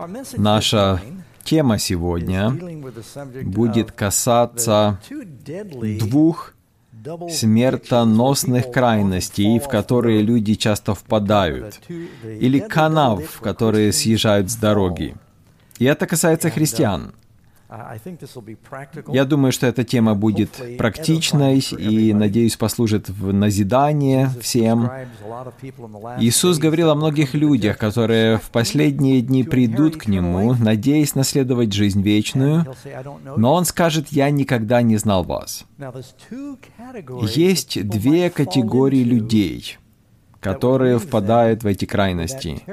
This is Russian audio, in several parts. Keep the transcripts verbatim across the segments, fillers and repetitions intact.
Наша тема сегодня будет касаться двух смертоносных крайностей, в которые люди часто впадают, или канав, в которые съезжают с дороги. И это касается христиан. Я думаю, что эта тема будет практичной и, надеюсь, послужит в назидание всем. Иисус говорил о многих людях, которые в последние дни придут к Нему, надеясь наследовать жизнь вечную, но Он скажет: «Я никогда не знал вас». Есть две категории людей, которые впадают в эти крайности,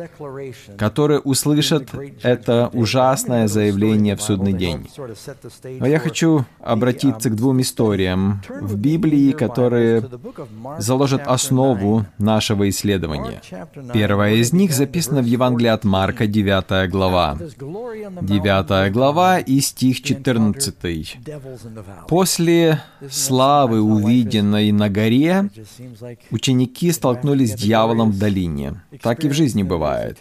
которые услышат это ужасное заявление в судный день. Но я хочу обратиться к двум историям в Библии, которые заложат основу нашего исследования. Первая из них записана в Евангелии от Марка, девятая глава. девятая глава и стих четырнадцатый. «После славы, увиденной на горе, ученики столкнулись столкнулись с дьяволом в долине. Так и в жизни бывает.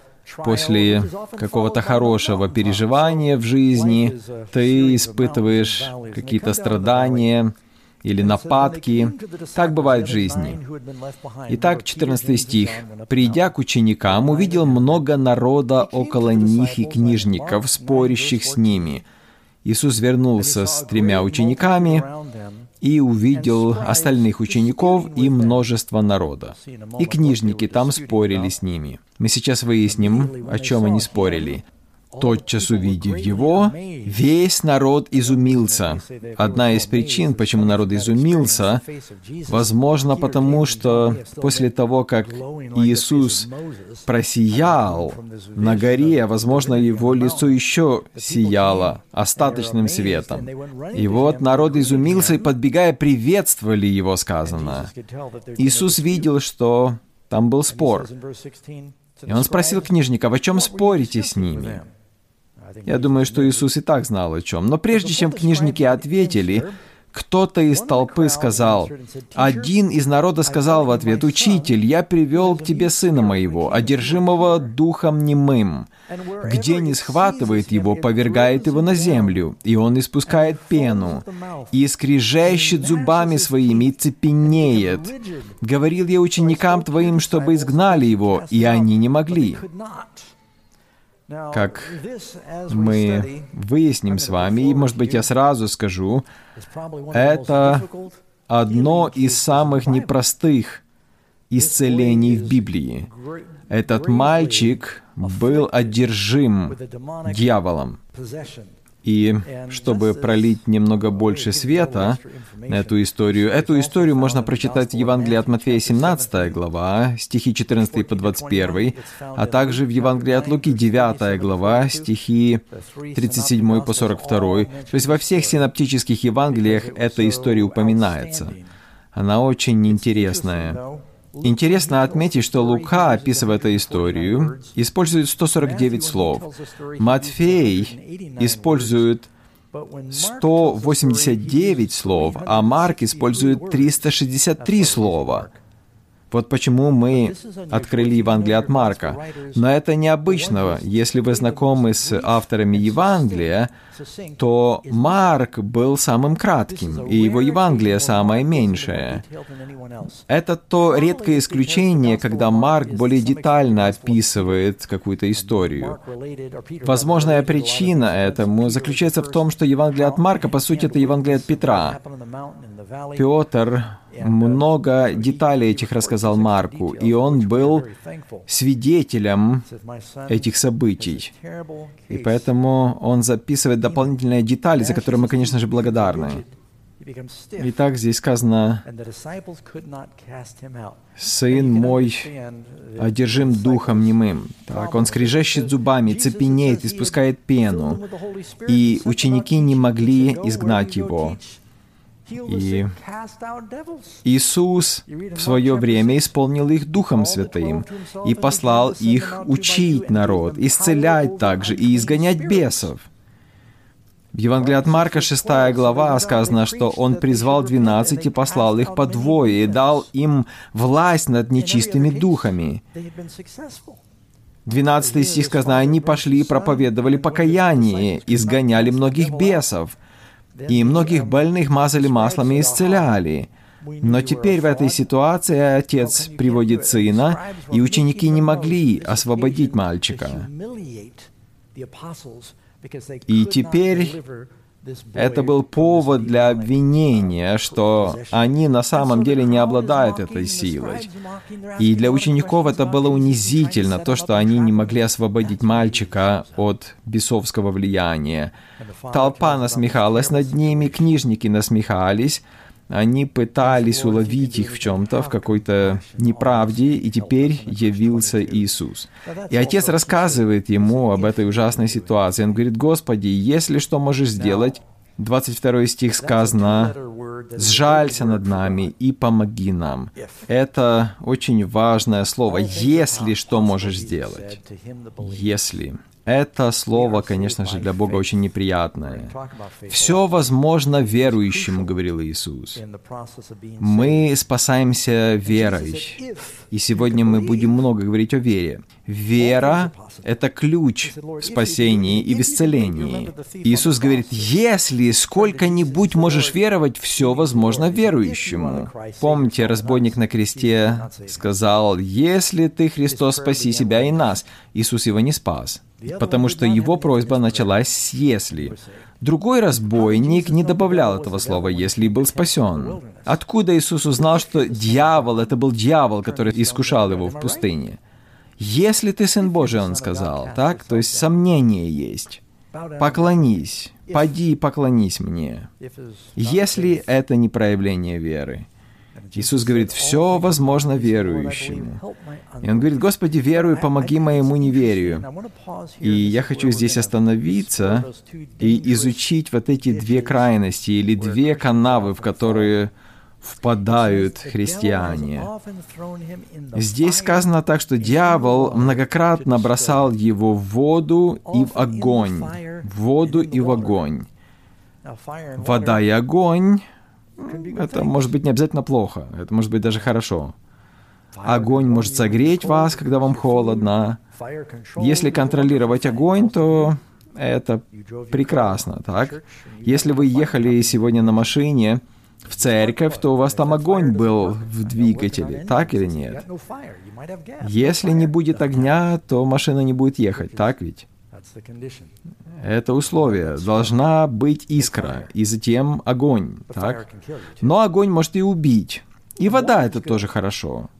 После какого-то хорошего переживания в жизни ты испытываешь какие-то страдания или нападки. Так бывает в жизни. Итак, четырнадцатый стих. «Придя к ученикам, увидел много народа около них и книжников, спорящих с ними. Иисус вернулся с тремя учениками и увидел остальных учеников и множество народа. И книжники там спорили с ними». Мы сейчас выясним, о чем они спорили. «Тотчас увидев его, весь народ изумился». Одна из причин, почему народ изумился, возможно, потому что после того, как Иисус просиял на горе, возможно, его лицо еще сияло остаточным светом. И вот народ изумился и, подбегая, приветствовали его, сказано. Иисус видел, что там был спор. И он спросил книжников: «О чем спорите с ними?» Я думаю, что Иисус и так знал о чем. Но прежде чем книжники ответили, кто-то из толпы сказал, один из народа сказал в ответ: «Учитель, я привел к тебе сына моего, одержимого духом немым. Где не схватывает его, повергает его на землю, и он испускает пену, и скрежещет зубами своими, и цепенеет. Говорил я ученикам твоим, чтобы изгнали его, и они не могли». Как мы выясним с вами, и, может быть, я сразу скажу, это одно из самых непростых исцелений в Библии. Этот мальчик был одержим дьяволом. И чтобы пролить немного больше света на эту историю, эту историю можно прочитать в Евангелии от Матфея, семнадцатая глава, стихи четырнадцатый по двадцать первый, а также в Евангелии от Луки, девятая глава, стихи тридцать седьмой по сорок второй. То есть во всех синоптических Евангелиях эта история упоминается. Она очень интересная. Интересно отметить, что Лука, описывая эту историю, использует сто сорок девять слов. Матфей использует сто восемьдесят девять слов, а Марк использует триста шестьдесят три слова. Вот почему мы открыли Евангелие от Марка. Но это необычно. Если вы знакомы с авторами Евангелия, то Марк был самым кратким, и его Евангелие самое меньшее. Это то редкое исключение, когда Марк более детально описывает какую-то историю. Возможная причина этому заключается в том, что Евангелие от Марка, по сути, это Евангелие от Петра. Петр много деталей этих рассказал Марку, и он был свидетелем этих событий. И поэтому он записывает дополнительные детали, за которые мы, конечно же, благодарны. Итак, здесь сказано: «Сын мой одержим духом немым». Так, он скрежещет зубами, цепенеет, испускает пену, и ученики не могли изгнать его. И Иисус в свое время исполнил их Духом Святым и послал их учить народ, исцелять также и изгонять бесов. В Евангелии от Марка, шестая глава, сказано, что Он призвал двенадцать и послал их по двое, и дал им власть над нечистыми духами. двенадцатый стих сказано, они пошли и проповедовали покаяние, изгоняли многих бесов, и многих больных мазали маслом и исцеляли. Но теперь в этой ситуации отец приводит сына, и ученики не могли освободить мальчика. И теперь это был повод для обвинения, что они на самом деле не обладают этой силой. И для учеников это было унизительно, то, что они не могли освободить мальчика от бесовского влияния. Толпа насмехалась над ними, книжники насмехались, они пытались уловить их в чем-то, в какой-то неправде, и теперь явился Иисус. И отец рассказывает ему об этой ужасной ситуации. Он говорит: «Господи, если что можешь сделать», двадцать второй стих сказано, «Сжалься над нами и помоги нам». Это очень важное слово. «Если что можешь сделать». «Если». Это слово, конечно же, для Бога очень неприятное. «Все возможно верующему», — говорил Иисус. Мы спасаемся верой. И сегодня мы будем много говорить о вере. Вера — это ключ в спасении и в исцелении. Иисус говорит: «Если сколько-нибудь можешь веровать, все возможно верующему». Помните, разбойник на кресте сказал: «Если ты, Христос, спаси себя и нас». Иисус его не спас, потому что его просьба началась с «если». Другой разбойник не добавлял этого слова «если» и был спасен. Откуда Иисус узнал, что дьявол — это был дьявол, который искушал его в пустыне? «Если ты Сын Божий», он сказал, так? То есть сомнение есть. «Поклонись, поди и поклонись мне». Если это не проявление веры. Иисус говорит: «Все возможно верующему». И Он говорит: «Господи, верую, помоги моему неверию». И я хочу здесь остановиться и изучить вот эти две крайности или две канавы, в которые впадают христиане. Здесь сказано так, что дьявол многократно бросал его в воду и в огонь. В воду и в огонь. Вода и огонь — это может быть не обязательно плохо, это может быть даже хорошо. Огонь может согреть вас, когда вам холодно. Если контролировать огонь, то это прекрасно, так? Если вы ехали сегодня на машине в церковь, то у вас там огонь был в двигателе, так или нет? Если не будет огня, то машина не будет ехать, так ведь? Это условие. Должна быть искра, и затем огонь, так? Но огонь может и убить. И вода — это тоже хорошо.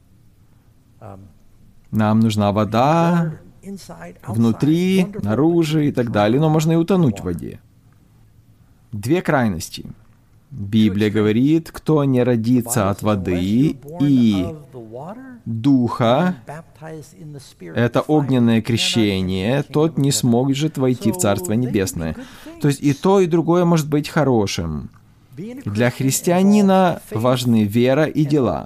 Нам нужна вода внутри, наружу и так далее, но можно и утонуть в воде. Две крайности. Библия говорит: кто не родится от воды и духа, это огненное крещение, тот не сможет войти в Царство Небесное. То есть и то, и другое может быть хорошим. Для христианина важны вера и дела.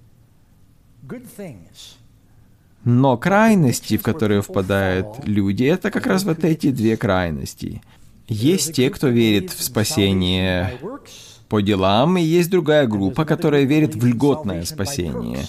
Но крайности, в которые впадают люди, это как раз вот эти две крайности. Есть те, кто верит в спасение по делам, и есть другая группа, которая верит в льготное спасение.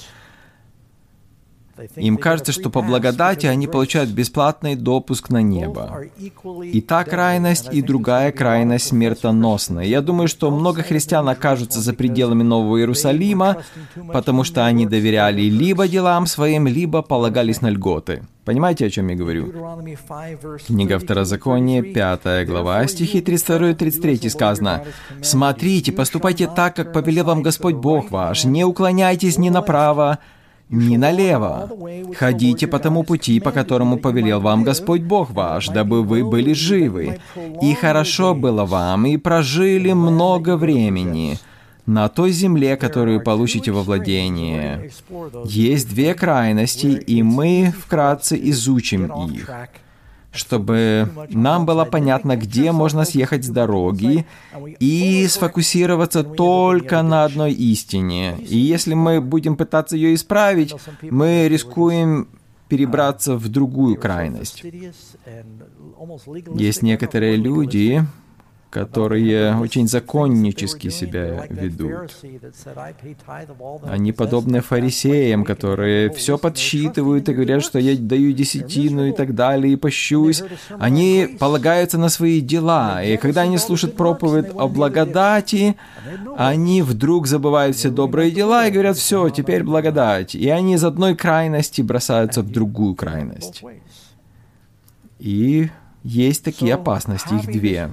Им кажется, что по благодати они получают бесплатный допуск на небо. И та крайность, и другая крайность смертоносна. Я думаю, что много христиан окажутся за пределами Нового Иерусалима, потому что они доверяли либо делам своим, либо полагались на льготы. Понимаете, о чем я говорю? Книга Второзакония, пятая глава, стихи тридцать два и тридцать три сказано: «Смотрите, поступайте так, как повелел вам Господь Бог ваш, не уклоняйтесь ни направо, ни налево. Ходите по тому пути, по которому повелел вам Господь Бог ваш, дабы вы были живы. И хорошо было вам, и прожили много времени на той земле, которую получите во владение». Есть две крайности, и мы вкратце изучим их, чтобы нам было понятно, где можно съехать с дороги и сфокусироваться только на одной истине. И если мы будем пытаться ее исправить, мы рискуем перебраться в другую крайность. Есть некоторые люди, которые очень законнически себя ведут. Они подобны фарисеям, которые все подсчитывают и говорят, что я даю десятину и так далее, и пощусь. Они полагаются на свои дела, и когда они слушают проповедь о благодати, они вдруг забывают все добрые дела и говорят, все, теперь благодать. И они из одной крайности бросаются в другую крайность. И есть такие опасности, их две.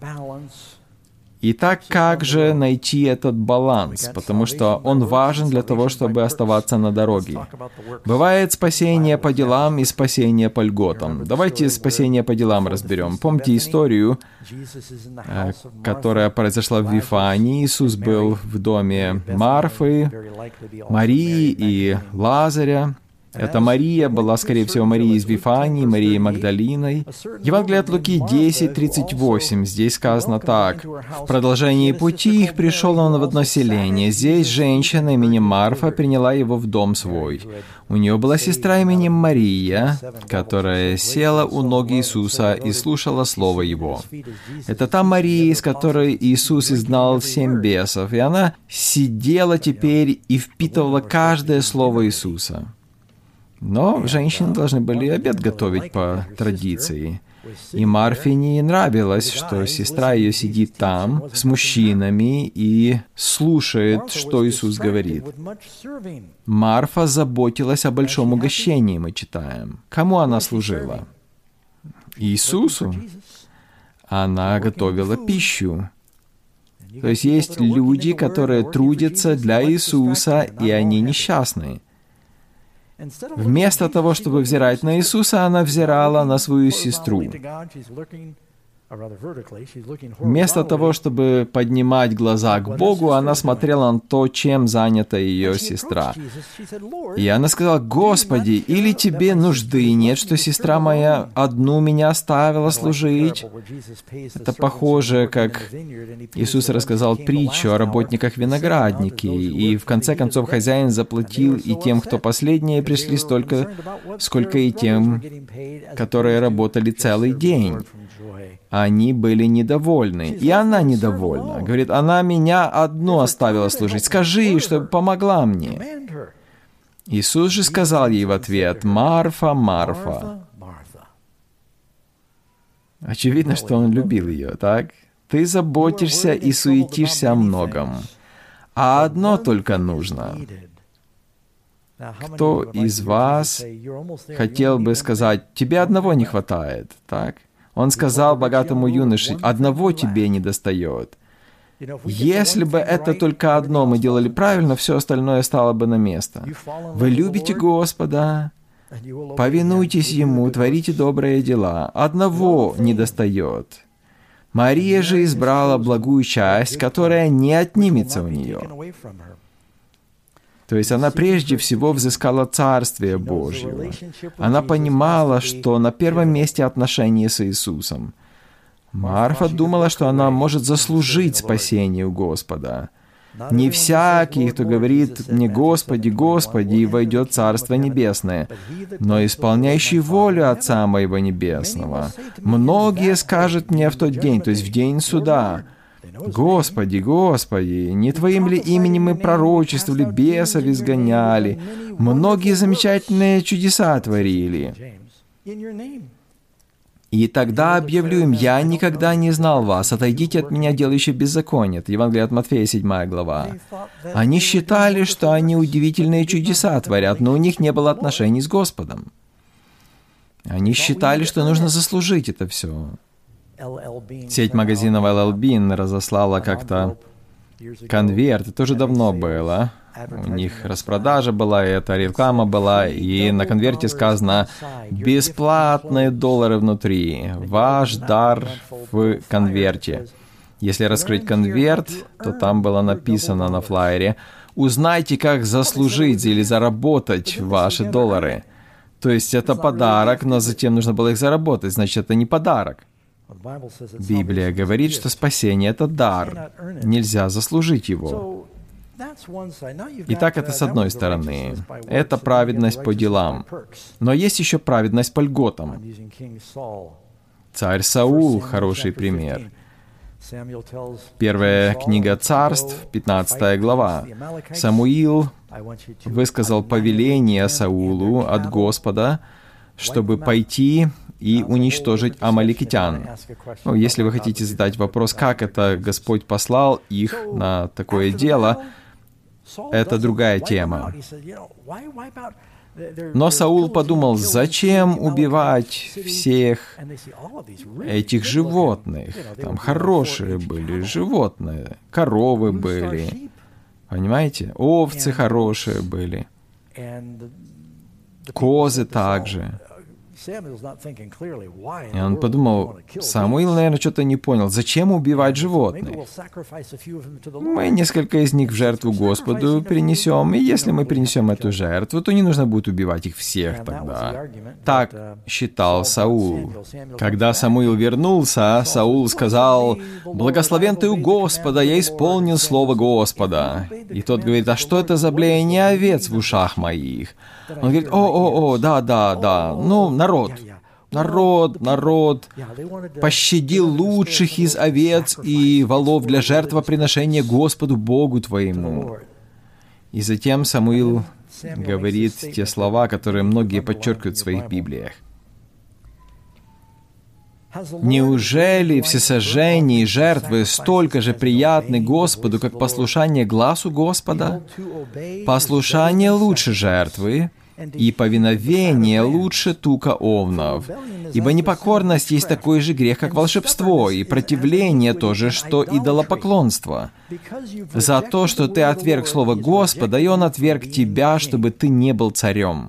Итак, как же найти этот баланс? Потому что он важен для того, чтобы оставаться на дороге. Бывает спасение по делам и спасение по льготам. Давайте спасение по делам разберем. Помните историю, которая произошла в Вифании. Иисус был в доме Марфы, Марии и Лазаря. Эта Мария была, скорее всего, Марией из Вифании, Марией Магдалиной. Евангелие от Луки десять тридцать восемь. Здесь сказано так. «В продолжении пути их пришел он в одно селение. Здесь женщина именем Марфа приняла его в дом свой. У нее была сестра именем Мария, которая села у ног Иисуса и слушала слово его. Это та Мария, из которой Иисус изгнал семь бесов, и она сидела теперь и впитывала каждое слово Иисуса». Но женщины должны были обед готовить по традиции. И Марфе не нравилось, что сестра ее сидит там с мужчинами и слушает, что Иисус говорит. Марфа заботилась о большом угощении, мы читаем. Кому она служила? Иисусу. Она готовила пищу. То есть есть люди, которые трудятся для Иисуса, и они несчастные. Вместо того, чтобы взирать на Иисуса, она взирала на свою сестру. Вместо того, чтобы поднимать глаза к Богу, она смотрела на то, чем занята ее сестра. И она сказала: «Господи, или тебе нужды нет, что сестра моя одну меня оставила служить?» Это похоже, как Иисус рассказал притчу о работниках виноградники, и в конце концов хозяин заплатил и тем, кто последние пришли, столько, сколько и тем, которые работали целый день. Они были недовольны, и она недовольна. Говорит, она меня одну оставила служить. Скажи, чтобы помогла мне. Иисус же сказал ей в ответ: «Марфа, Марфа». Очевидно, что он любил ее, так? «Ты заботишься и суетишься о многом, а одно только нужно». Кто из вас хотел бы сказать: «Тебе одного не хватает», так? Он сказал богатому юноше: «Одного тебе не достает». Если бы это только одно мы делали правильно, все остальное стало бы на место. Вы любите Господа, повинуйтесь Ему, творите добрые дела. Одного не достает. Мария же избрала благую часть, которая не отнимется у нее. То есть она прежде всего взыскала Царствие Божье. Она понимала, что на первом месте отношения с Иисусом. Марфа думала, что она может заслужить спасение у Господа. Не всякий, кто говорит мне «Господи, Господи», и войдет в Царство Небесное, но исполняющий волю Отца Моего Небесного. Многие скажут мне в тот день, то есть в день суда: «Господи, Господи, не Твоим ли именем мы пророчествовали, бесов изгоняли, многие замечательные чудеса творили?» И тогда объявлю им: «Я никогда не знал вас, отойдите от меня, делающие беззаконие». Это Евангелие от Матфея, седьмая глава. Они считали, что они удивительные чудеса творят, но у них не было отношений с Господом. Они считали, что нужно заслужить это все. Сеть магазинов эл эл Bean разослала как-то конверт, это уже давно было. У них распродажа была, и эта реклама была, и на конверте сказано: «Бесплатные доллары внутри, ваш дар в конверте». Если раскрыть конверт, то там было написано на флаере: «Узнайте, как заслужить или заработать ваши доллары». То есть это подарок, но затем нужно было их заработать, значит, это не подарок. Библия говорит, что спасение — это дар, нельзя заслужить его. Итак, это с одной стороны. Это праведность по делам. Но есть еще праведность по льготам. Царь Саул — хороший пример. Первая книга Царств, пятнадцатая глава. Самуил высказал повеление Саулу от Господа, чтобы пойти и уничтожить амаликитян. Ну, если вы хотите задать вопрос, как это Господь послал их на такое дело, это другая тема. Но Саул подумал, зачем убивать всех этих животных? Там хорошие были животные, коровы были, понимаете? Овцы хорошие были, козы также. И он подумал, Самуил, наверное, что-то не понял, зачем убивать животных? Мы несколько из них в жертву Господу принесем, и если мы принесем эту жертву, то не нужно будет убивать их всех тогда. Так считал Саул. Когда Самуил вернулся, Саул сказал, «Благословен ты у Господа, я исполнил слово Господа». И тот говорит, «А что это за блеяние овец в ушах моих?» Он говорит, «О-о-о, да-да-да, ну, народ, народ, народ пощадил лучших из овец и волов для жертвоприношения Господу Богу твоему». И затем Самуил говорит те слова, которые многие подчеркивают в своих Библиях. «Неужели всесожжения и жертвы столько же приятны Господу, как послушание гласу Господа? Послушание лучше жертвы, и повиновение лучше тука овнов. Ибо непокорность есть такой же грех, как волшебство, и противление то же, что идолопоклонство. За то, что ты отверг слово Господа, и Он отверг тебя, чтобы ты не был царем».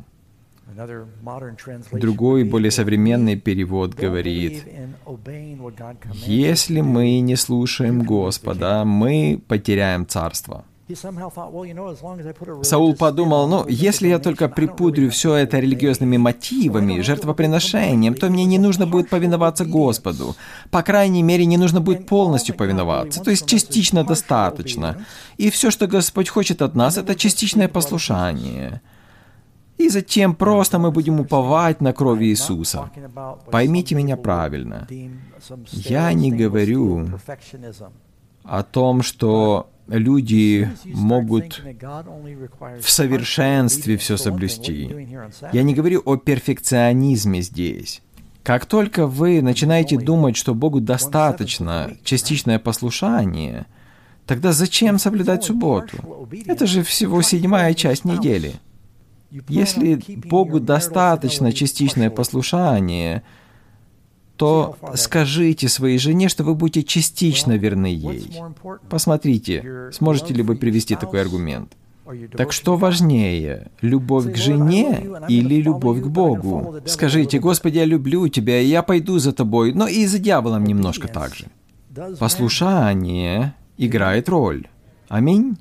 Другой, более современный перевод говорит, «Если мы не слушаем Господа, мы потеряем царство». Саул подумал, ну, если я только припудрю все это религиозными мотивами, жертвоприношением, то мне не нужно будет повиноваться Господу. По крайней мере, не нужно будет полностью повиноваться, то есть частично достаточно. И все, что Господь хочет от нас, это частичное послушание. И затем просто мы будем уповать на кровь Иисуса. Поймите меня правильно. Я не говорю о том, что люди могут в совершенстве все соблюсти. Я не говорю о перфекционизме здесь. Как только вы начинаете думать, что Богу достаточно частичное послушание, тогда зачем соблюдать субботу? Это же всего седьмая часть недели. Если Богу достаточно частичное послушание, то скажите своей жене, что вы будете частично верны ей. Посмотрите, сможете ли вы привести такой аргумент. Так что важнее, любовь к жене или любовь к Богу? Скажите, «Господи, я люблю Тебя, и я пойду за Тобой», но и за дьяволом немножко так же. Послушание играет роль. Аминь.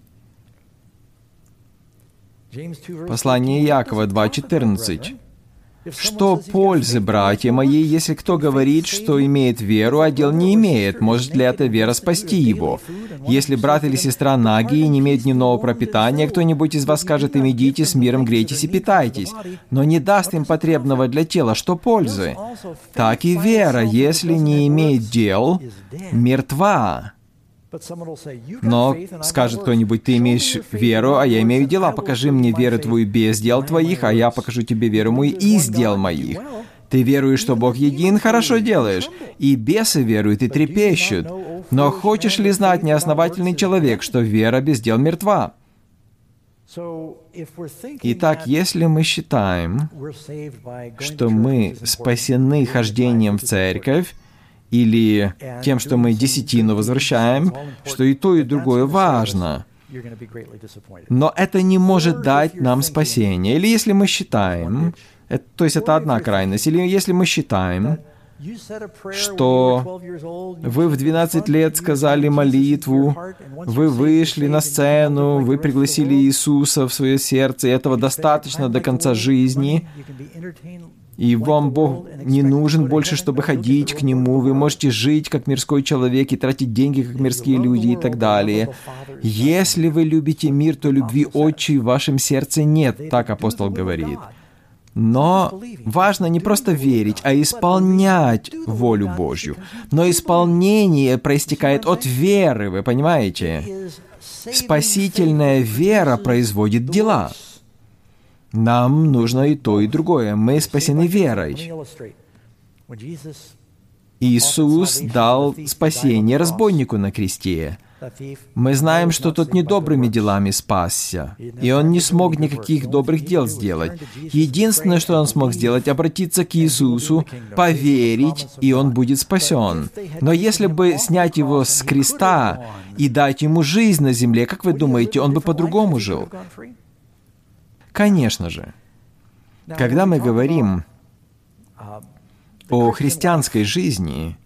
Послание Иакова два четырнадцать. «Что пользы, братья мои, если кто говорит, что имеет веру, а дел не имеет? Может ли эта вера спасти его? Если брат или сестра наги и не имеют дневного пропитания, кто-нибудь из вас скажет им, идите с миром, грейтесь и питайтесь, но не даст им потребного для тела, что пользы? Так и вера, если не имеет дел, мертва». Но скажет кто-нибудь, ты имеешь веру, а я имею дела. Покажи мне веру твою без дел твоих, а я покажу тебе веру мою из дел моих. Ты веруешь, что Бог един, хорошо делаешь. И бесы веруют и трепещут. Но хочешь ли знать, неосновательный человек, что вера без дел мертва? Итак, если мы считаем, что мы спасены хождением в церковь, или тем, что мы десятину возвращаем, что и то, и другое важно. Но это не может дать нам спасение. Или если мы считаем, это, то есть это одна крайность, или если мы считаем, что вы в двенадцать лет сказали молитву, вы вышли на сцену, вы пригласили Иисуса в свое сердце, и этого достаточно до конца жизни, и вам Бог не нужен больше, чтобы ходить к Нему, вы можете жить как мирской человек и тратить деньги, как мирские люди и так далее. Если вы любите мир, то любви Отчей в вашем сердце нет, так апостол говорит. Но важно не просто верить, а исполнять волю Божью. Но исполнение проистекает от веры, вы понимаете? Спасительная вера производит дела. Нам нужно и то, и другое. Мы спасены верой. Иисус дал спасение разбойнику на кресте. Мы знаем, что тот не добрыми делами спасся, и он не смог никаких добрых дел сделать. Единственное, что он смог сделать, обратиться к Иисусу, поверить, и он будет спасен. Но если бы снять его с креста и дать ему жизнь на земле, как вы думаете, он бы по-другому жил? Конечно же. Когда мы говорим о христианской жизни,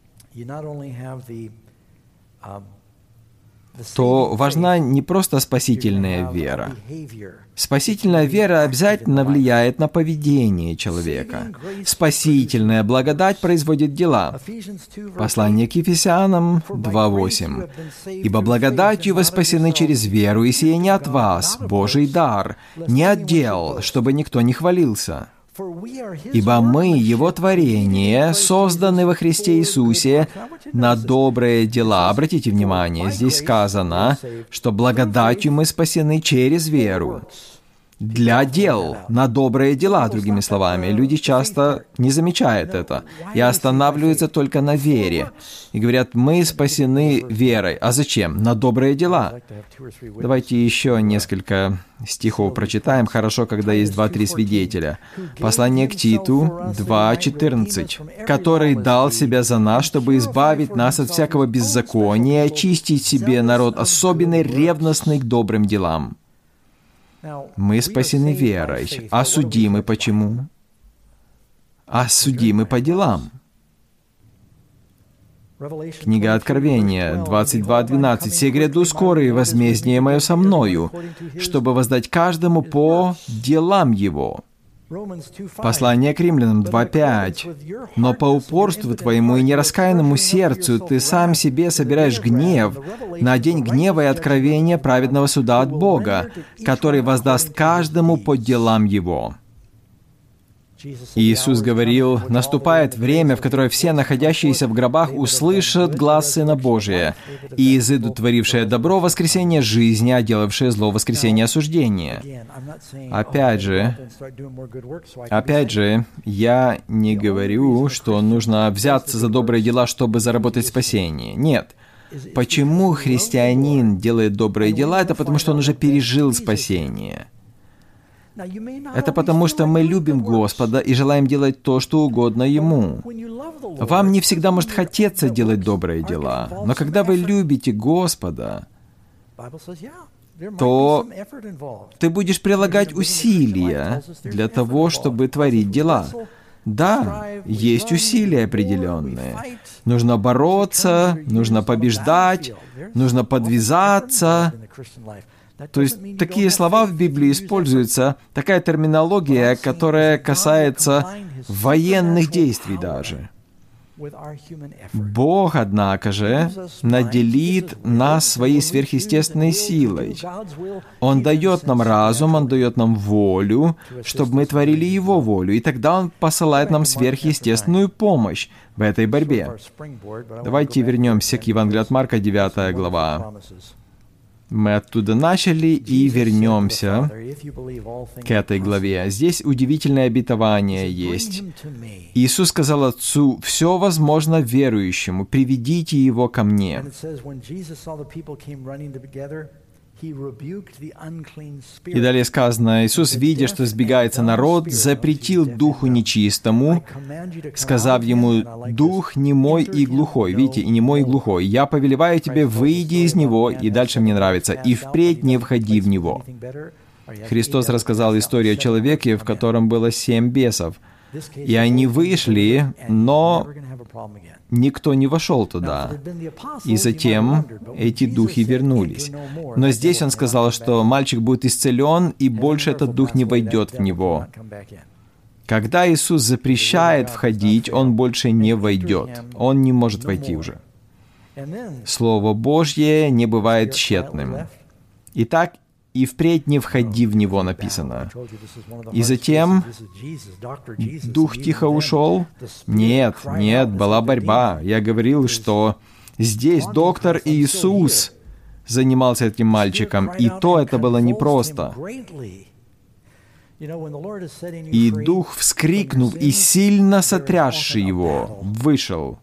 то важна не просто спасительная вера. Спасительная вера обязательно влияет на поведение человека. Спасительная благодать производит дела. Послание к Ефесянам два восемь. «Ибо благодатью вы спасены через веру, и сие не от вас, Божий дар, не от дел, чтобы никто не хвалился». Ибо мы, Его творение, созданы во Христе Иисусе на добрые дела. Обратите внимание, здесь сказано, что благодатью мы спасены через веру. Для дел, на добрые дела, другими словами. Люди часто не замечают это и останавливаются только на вере. И говорят, мы спасены верой. А зачем? На добрые дела. Давайте еще несколько стихов прочитаем. Хорошо, когда есть два-три свидетеля. Послание к Титу два четырнадцать. «Который дал себя за нас, чтобы избавить нас от всякого беззакония и очистить себе народ особенный, ревностный к добрым делам». Мы спасены верой. А судимы почему? А судимы по делам. Книга Откровения двадцать два двенадцать. «Се гряду скоро, и возмездие мое со мною, чтобы воздать каждому по делам его». Послание к Римлянам два пять. «Но по упорству твоему и нераскаянному сердцу ты сам себе собираешь гнев на день гнева и откровения праведного суда от Бога, который воздаст каждому по делам его». Иисус говорил, наступает время, в которое все находящиеся в гробах услышат глас Сына Божия, и изыдут творившее добро воскресение жизни, а делавшее зло воскресение осуждения. Опять же, опять же, я не говорю, что нужно взяться за добрые дела, чтобы заработать спасение. Нет. Почему христианин делает добрые дела? Это потому, что он уже пережил спасение. Это потому, что мы любим Господа и желаем делать то, что угодно Ему. Вам не всегда может хотеться делать добрые дела, но когда вы любите Господа, то ты будешь прилагать усилия для того, чтобы творить дела. Да, есть усилия определенные. Нужно бороться, нужно побеждать, нужно подвязаться. То есть такие слова в Библии используются, такая терминология, которая касается военных действий даже. Бог, однако же, наделит нас своей сверхъестественной силой. Он дает нам разум, Он дает нам волю, чтобы мы творили Его волю, и тогда Он посылает нам сверхъестественную помощь в этой борьбе. Давайте вернемся к Евангелию от Марка, девятая глава. Мы оттуда начали и вернемся к этой главе. Здесь удивительное обетование есть. Иисус сказал Отцу, «Все возможно верующему, приведите его ко мне». И далее сказано, Иисус, видя, что сбегается народ, запретил духу нечистому, сказав ему, «Дух немой и глухой». Видите, и немой и глухой. «Я повелеваю тебе, выйди из него», и дальше мне нравится, «и впредь не входи в него». Христос рассказал историю о человеке, в котором было семь бесов. И они вышли, но никто не вошел туда. И затем эти духи вернулись. Но здесь он сказал, что мальчик будет исцелен, и больше этот дух не войдет в него. Когда Иисус запрещает входить, он больше не войдет. Он не может войти уже. Слово Божье не бывает тщетным. Итак, и впредь не входи в него, написано. И затем дух тихо ушел? Нет, нет, была борьба. Я говорил, что здесь доктор Иисус занимался этим мальчиком, и то это было непросто. И дух, вскрикнув и сильно сотрясший его, вышел.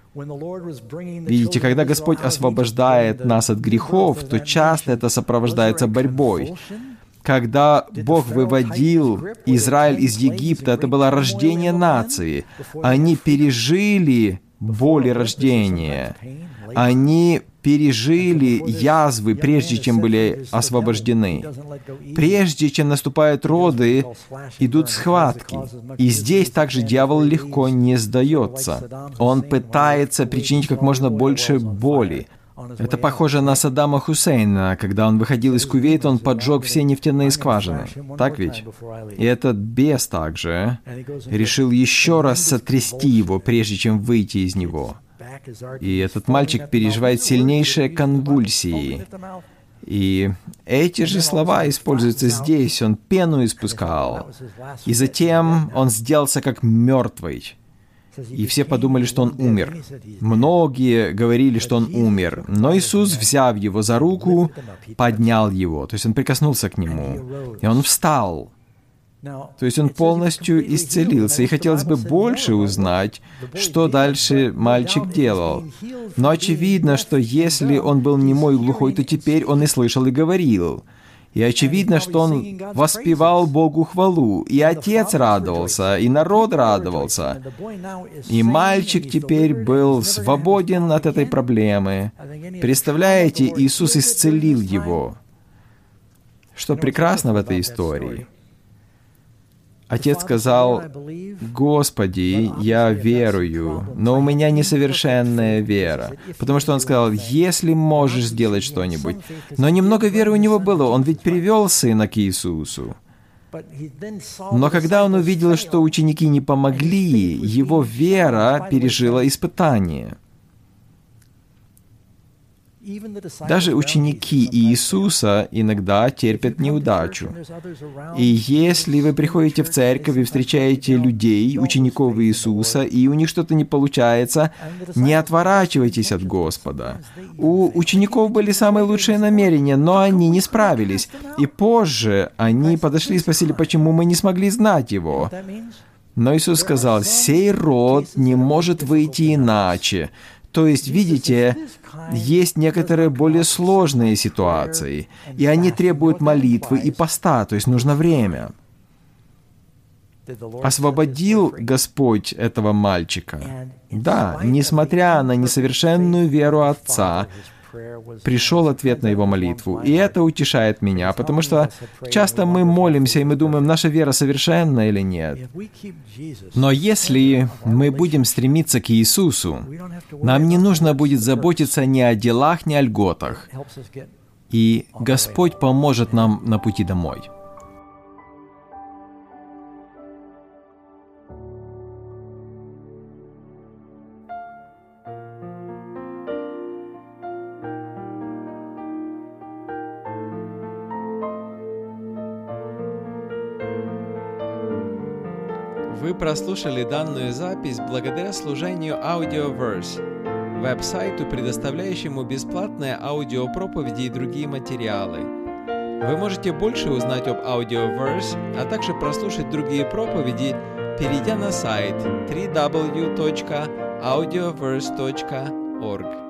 Видите, когда Господь освобождает нас от грехов, то часто это сопровождается борьбой. Когда Бог выводил Израиль из Египта, это было рождение нации. Они пережили боли рождения. Они пережили язвы, прежде чем были освобождены. Прежде чем наступают роды, идут схватки. И здесь также дьявол легко не сдается. Он пытается причинить как можно больше боли. Это похоже на Саддама Хусейна. Когда он выходил из Кувейта, он поджег все нефтяные скважины. Так ведь? И этот бес также решил еще раз сотрясти его, прежде чем выйти из него. И этот мальчик переживает сильнейшие конвульсии. И эти же слова используются здесь. Он пену испускал. И затем он сделался как мертвый. И все подумали, что он умер. Многие говорили, что он умер. Но Иисус, взяв его за руку, поднял его. То есть он прикоснулся к нему. И он встал. То есть он полностью исцелился. И хотелось бы больше узнать, что дальше мальчик делал. Но очевидно, что если он был немой и глухой, то теперь он и слышал, и говорил. И очевидно, что он воспевал Богу хвалу. И отец радовался, и народ радовался. И мальчик теперь был свободен от этой проблемы. Представляете, Иисус исцелил его. Что прекрасно в этой истории? Отец сказал: «Господи, я верую, но у меня несовершенная вера». Потому что он сказал: «Если можешь сделать что-нибудь». Но немного веры у него было, он ведь привел сына к Иисусу. Но когда он увидел, что ученики не помогли, его вера пережила испытание. Даже ученики Иисуса иногда терпят неудачу. И если вы приходите в церковь и встречаете людей, учеников Иисуса, и у них что-то не получается, не отворачивайтесь от Господа. У учеников были самые лучшие намерения, но они не справились. И позже они подошли и спросили, почему мы не смогли знать Его. Но Иисус сказал: «Сей род не может выйти иначе». То есть, видите, есть некоторые более сложные ситуации, и они требуют молитвы и поста, то есть нужно время. Освободил Господь этого мальчика? Да, несмотря на несовершенную веру отца, пришел ответ на его молитву. И это утешает меня, потому что часто мы молимся, и мы думаем, наша вера совершенна или нет. Но если мы будем стремиться к Иисусу, нам не нужно будет заботиться ни о делах, ни о льготах. И Господь поможет нам на пути домой. Вы прослушали данную запись благодаря служению Audioverse, веб-сайту, предоставляющему бесплатные аудиопроповеди и другие материалы. Вы можете больше узнать об Audioverse, а также прослушать другие проповеди, перейдя на сайт дабл ю дабл ю дабл ю точка аудиоверс точка орг.